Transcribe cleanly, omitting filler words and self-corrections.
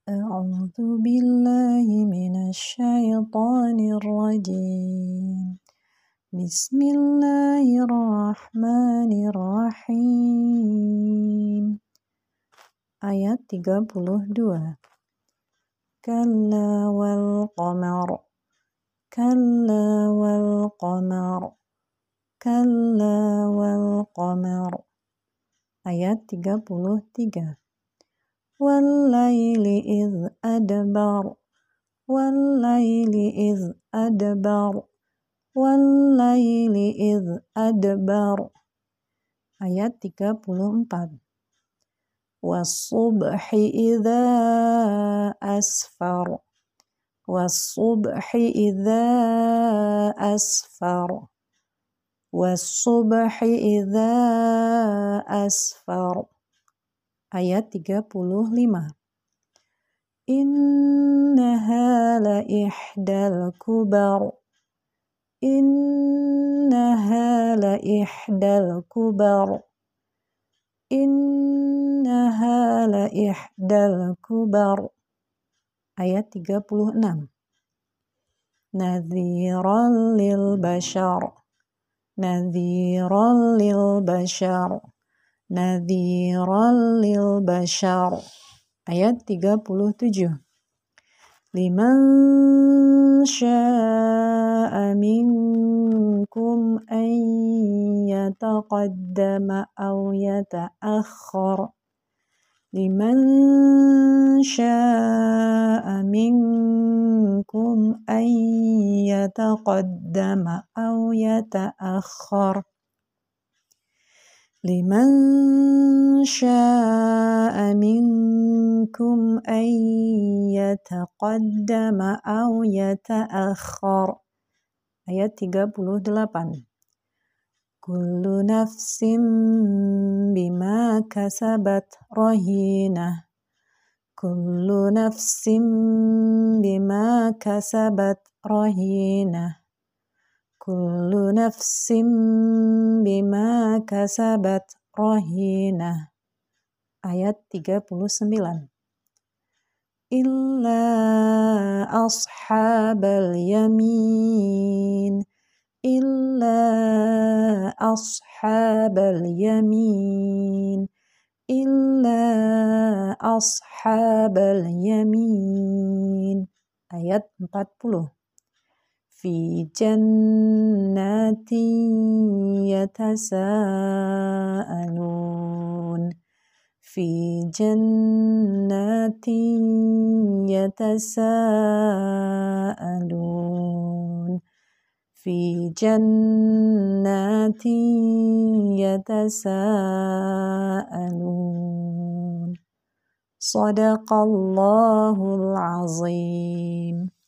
أعوذ بالله من الشيطان الرجيم بسم الله الرحمن الرحيم Ayat 32 Kalla wal qamar Kalla wal qamar Kalla wal qamar Ayat 33 Wallayli idh adbar Wallayli idh adbar Wallayli idh adbar Ayat 34 Wassubhi idha asfar Wassubhi idha asfar Wassubhi idha asfar Ayat 35 Innaha la ihdal kubar Innaha la ihdal kubar Innaha la ihdal kubar Ayat 36 Nadhiran lil bashar Nadhiran lil bashar Nadhiran lil bashar Ayat 37 Liman syaa minkum an yataqaddama aw yata'akhkhar Liman syaa minkum an yataqaddama aw yata'akhkhar Liman syaa minkum an yataqaddama aw yata'akhkhar Ayat 38 Kullu nafsin bima kasabat rahinah Kullu nafsin bima kasabat rahinah Kullu nafsin bima kasabat rahinah Ayat 39 Illa ashabal yamin Illa ashabal yamin Illa ashabal yamin Ayat 40 Fi jannatin yatasaalun Fi jannatin yatasaalun Fi jannatin yatasaalun Sadaqallahul azim